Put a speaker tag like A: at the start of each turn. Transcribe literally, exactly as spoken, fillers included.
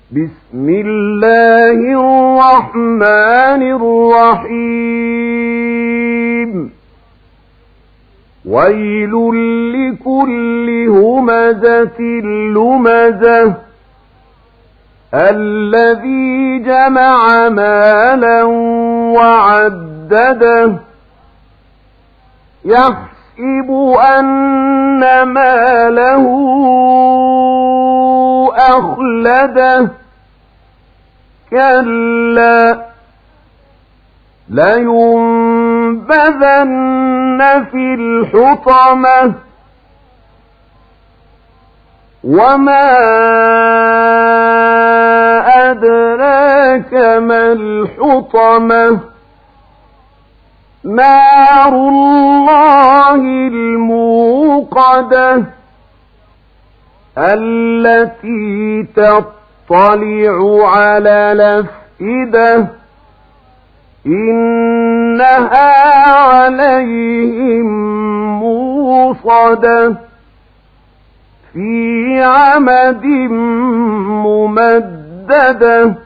A: بسم الله الرحمن الرحيم ويل لكل همزة لمزة الذي جمع مالا وعدده يحسب أن ماله أخلده كلا لينبذن في الحطمة وما أدراك ما الحطمة نار الله الموقدة التي تطلع على الأفئدة إنها عليهم موصدة في عمد ممددة